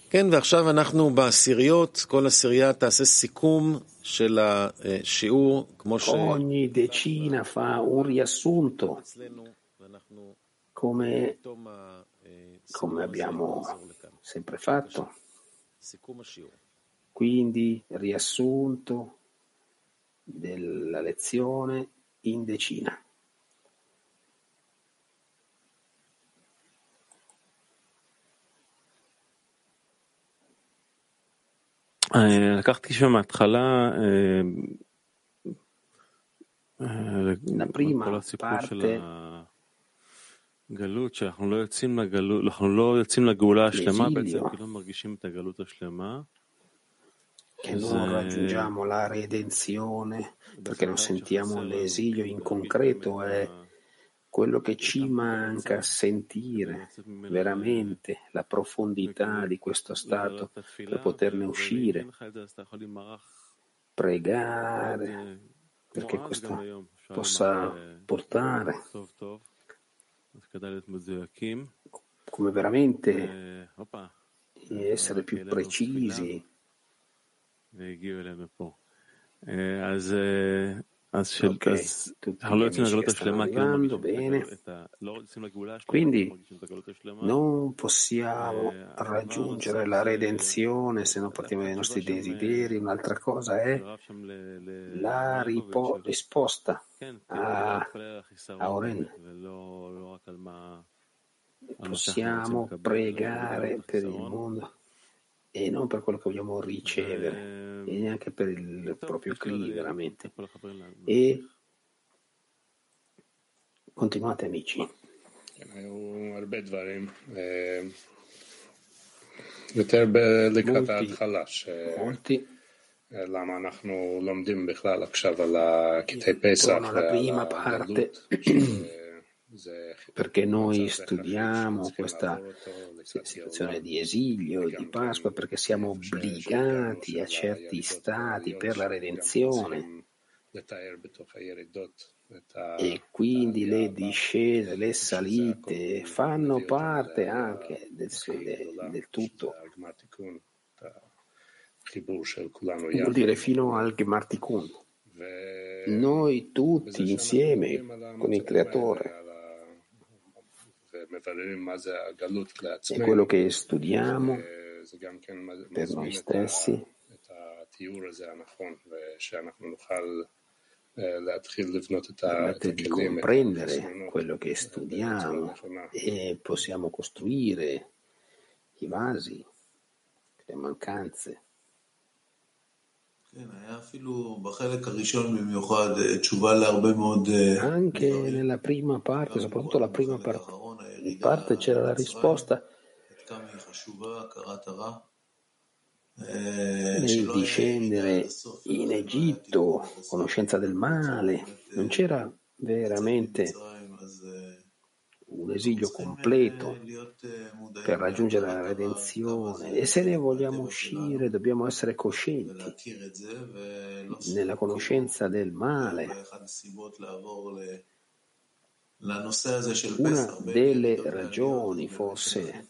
כן, ועכשיו אנחנו בעשיריות, כל עשירייה תעשה סיכום של השיעור, כמו Ogni decina fa un riassunto, אצלנו, ואנחנו come בתום הסיכום הזה abbiamo נחזור לכאן. sempre fatto. סיכום השיעור. Quindi riassunto della lezione in decina. לקחתי שם מההתחלה La כל prima הסיפור של parte, הגלות, שאנחנו לא יוצאים לגלות, אנחנו לא יוצאים לגאולה השלמה בעצם, l'esilio, כי לא מרגישים את הגלות השלמה. che non raggiungiamo la redenzione perché non sentiamo l'esilio in concreto, è quello che ci manca a sentire veramente la profondità di questo stato per poterne uscire, pregare perché questo possa portare come veramente essere più precisi. Ok, tutti gli amici che stanno arrivando, bene. Quindi non possiamo raggiungere la redenzione se non partiamo dai nostri desideri. Un'altra cosa è la risposta a Oren. Possiamo pregare per il mondo e non per quello che vogliamo ricevere e neanche per il proprio Kli veramente. E continuate amici. היו הרבה דברים, יותר לקראת ההתחלה, למה אנחנו לומדים בכלל עכשיו על קטעי פסח ועל הגלות, perché noi studiamo questa situazione di esilio e di Pasqua perché siamo obbligati a certi stati per la redenzione e quindi le discese, le salite fanno parte anche del tutto, vuol dire fino al Gemartikun. Noi tutti insieme con il Creatore è quello che studiamo per noi stessi permette di comprendere quello che studiamo e possiamo costruire i vasi, le mancanze. Anche nella prima parte, soprattutto la prima parte c'era la risposta nel discendere in Egitto, conoscenza del male, non c'era veramente un esilio completo per raggiungere la redenzione e se ne vogliamo uscire dobbiamo essere coscienti nella conoscenza del male. Una delle ragioni forse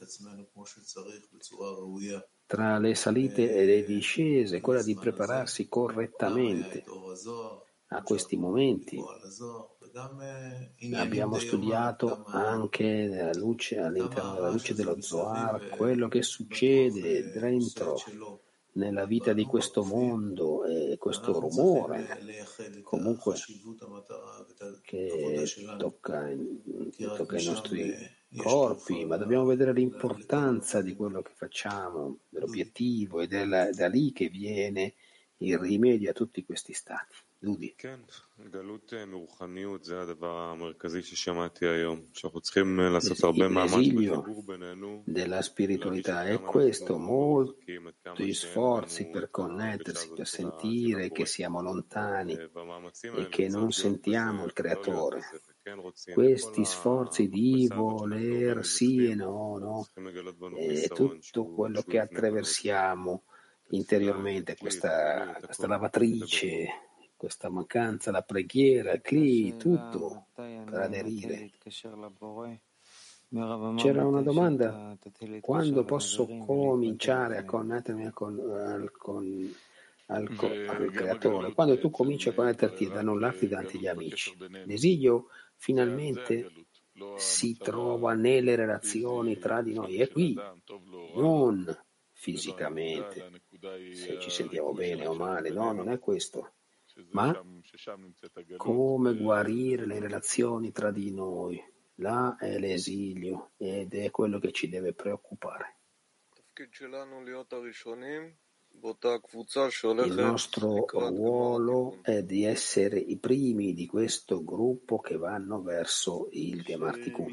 tra le salite e le discese, quella di prepararsi correttamente a questi momenti. Abbiamo studiato anche all'interno della luce dello Zohar quello che succede dentro nella vita di questo mondo e questo rumore comunque che tocca i nostri corpi, ma dobbiamo vedere l'importanza di quello che facciamo, dell'obiettivo ed è da lì che viene il rimedio a tutti questi stati. Dudi. L'esilio della spiritualità è questo, molti sforzi per connettersi, per sentire che siamo lontani e che non sentiamo il Creatore. Questi sforzi di voler sì e no, è tutto quello che attraversiamo interiormente, questa lavatrice, questa mancanza, la preghiera, il Kli, tutto per aderire. C'era una domanda: quando posso cominciare a connettermi al creatore? Quando tu cominci a connetterti ad annullarti davanti agli amici. L'esilio finalmente si trova nelle relazioni tra di noi, è qui, non fisicamente, se ci sentiamo bene o male, no, non è questo, ma come guarire le relazioni tra di noi. Là è l'esilio ed è quello che ci deve preoccupare. Il nostro ruolo è di essere i primi di questo gruppo che vanno verso il Gemar Tikkun.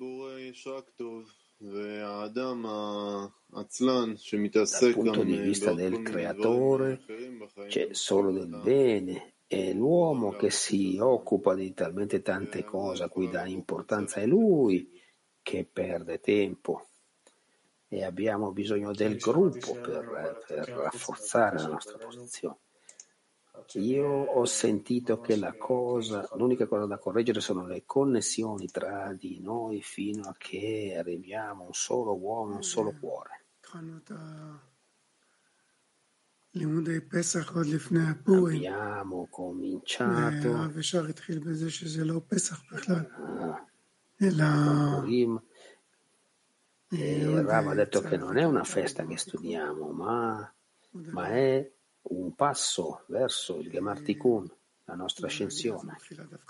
Dal punto di vista del creatore c'è solo del bene, e l'uomo che si occupa di talmente tante cose a cui dà importanza è lui che perde tempo. E abbiamo bisogno del gruppo per rafforzare la nostra posizione. Io ho sentito che l'unica cosa da correggere sono le connessioni tra di noi fino a che arriviamo a un solo uomo, un solo cuore. Abbiamo cominciato con Purim. E Rav ha detto che non è una festa che studiamo, ma è un passo verso il Gemar Tikkun, la nostra ascensione.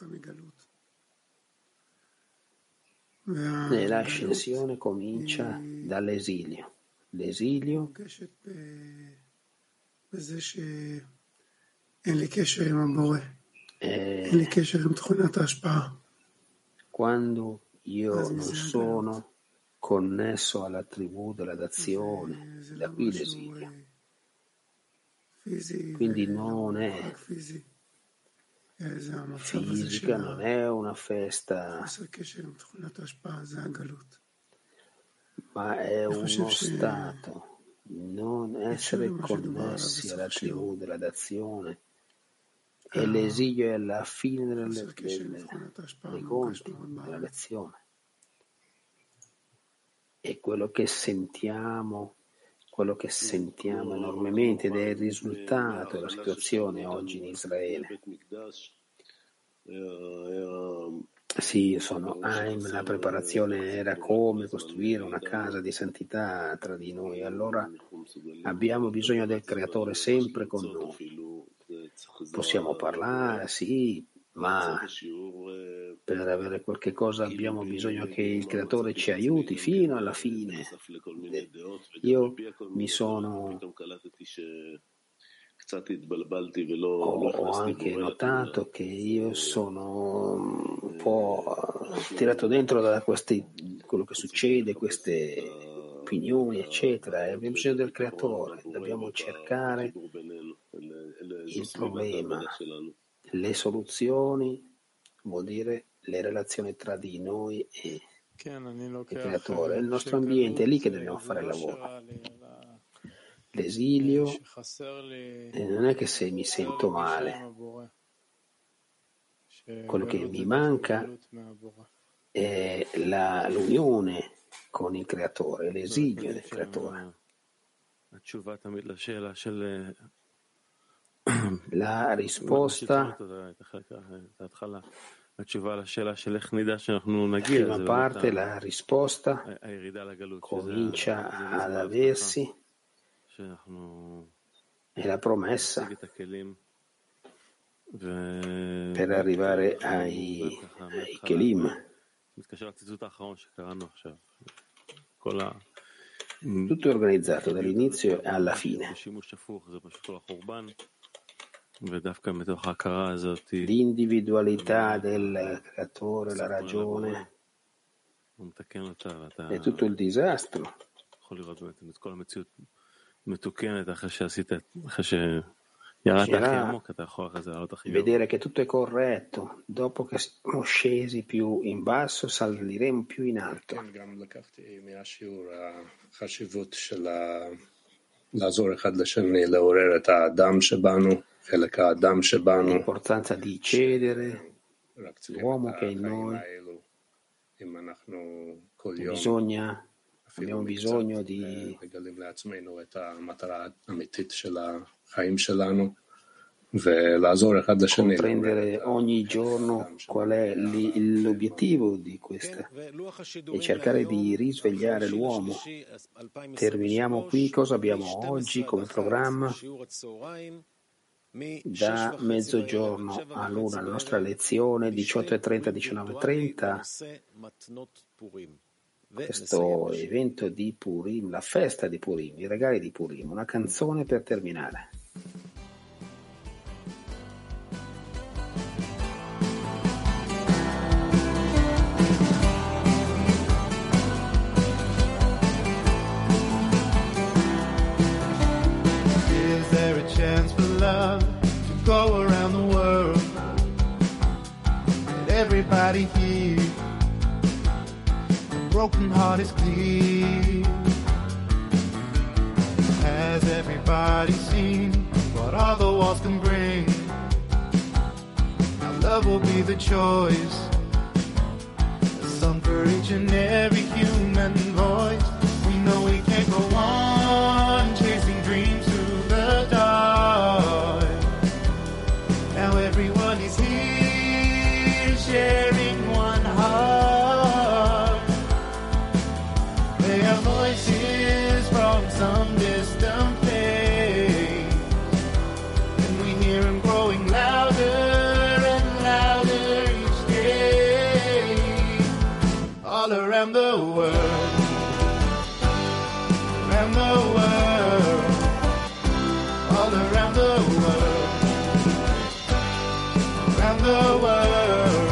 E l'ascensione comincia dall'esilio. L'esilio è quando io non sono connesso alla tribù della dazione, da qui l'esilio. Quindi non è fisica, non è una festa, ma è uno stato, non essere connessi alla tribù della dazione. E l'esilio è alla fine dei conti, della lezione. E quello che sentiamo enormemente ed è il risultato della situazione oggi in Israele. Sì, sono Haim, la preparazione era come costruire una casa di santità tra di noi. Allora abbiamo bisogno del Creatore sempre con noi. Possiamo parlare, sì, ma per avere qualche cosa abbiamo bisogno che il Creatore ci aiuti fino alla fine. Io ho anche notato che io sono un po' tirato dentro da quello che succede, queste opinioni, eccetera, e abbiamo bisogno del Creatore, dobbiamo cercare il problema, le soluzioni, vuol dire le relazioni tra di noi e il Creatore, il nostro ambiente, è lì che dobbiamo fare il lavoro. L'esilio non è che se mi sento male, quello che mi manca è l'unione con il Creatore, l'esilio del Creatore. La risposta, prima parte, la risposta comincia ad aversi, è la promessa per arrivare ai Kelim. Tutto è organizzato dall'inizio alla fine. L'individualità del creatore, la ragione, è tutto il disastro. Vedere che tutto è corretto, dopo che siamo scesi più in basso saliremo più in alto. L'importanza di cedere l'uomo che è in noi abbiamo bisogno di comprendere ogni giorno qual è l'obiettivo di questa e cercare di risvegliare l'uomo. Terminiamo qui. Cosa abbiamo oggi come programma? Da mezzogiorno all'una la nostra lezione 18:30, 19:30, questo evento di Purim, la festa di Purim, i regali di Purim, una canzone per terminare. Is there a chance for love to go around the world? Let everybody hear. A broken heart is clear. Has everybody seen what all the walls can bring? Now love will be the choice. A song for each and every human voice. We know we can't go on chasing dreams through the dark. Now everyone is here sharing one heart. They are voices from some distant place, and we hear them growing louder and louder each day. All around the world, around the world, all around the world, around the world.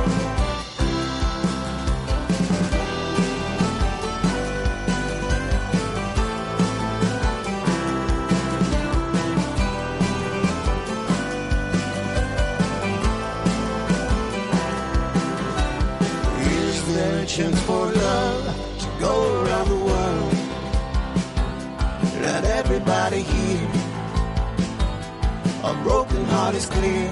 Is there a chance for love to go around the world? Let everybody hear. A broken heart is clear.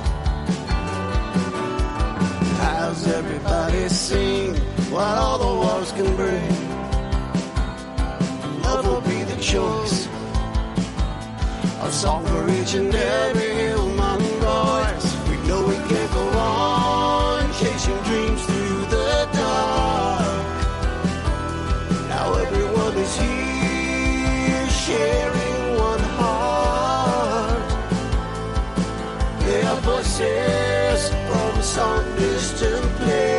Has everybody seen what all the walls can bring? Love will be the choice. A song for each and every human voice. We know we can't go on chasing dreams through the dark. Now everyone is here sharing one heart. They are voices from some distant place.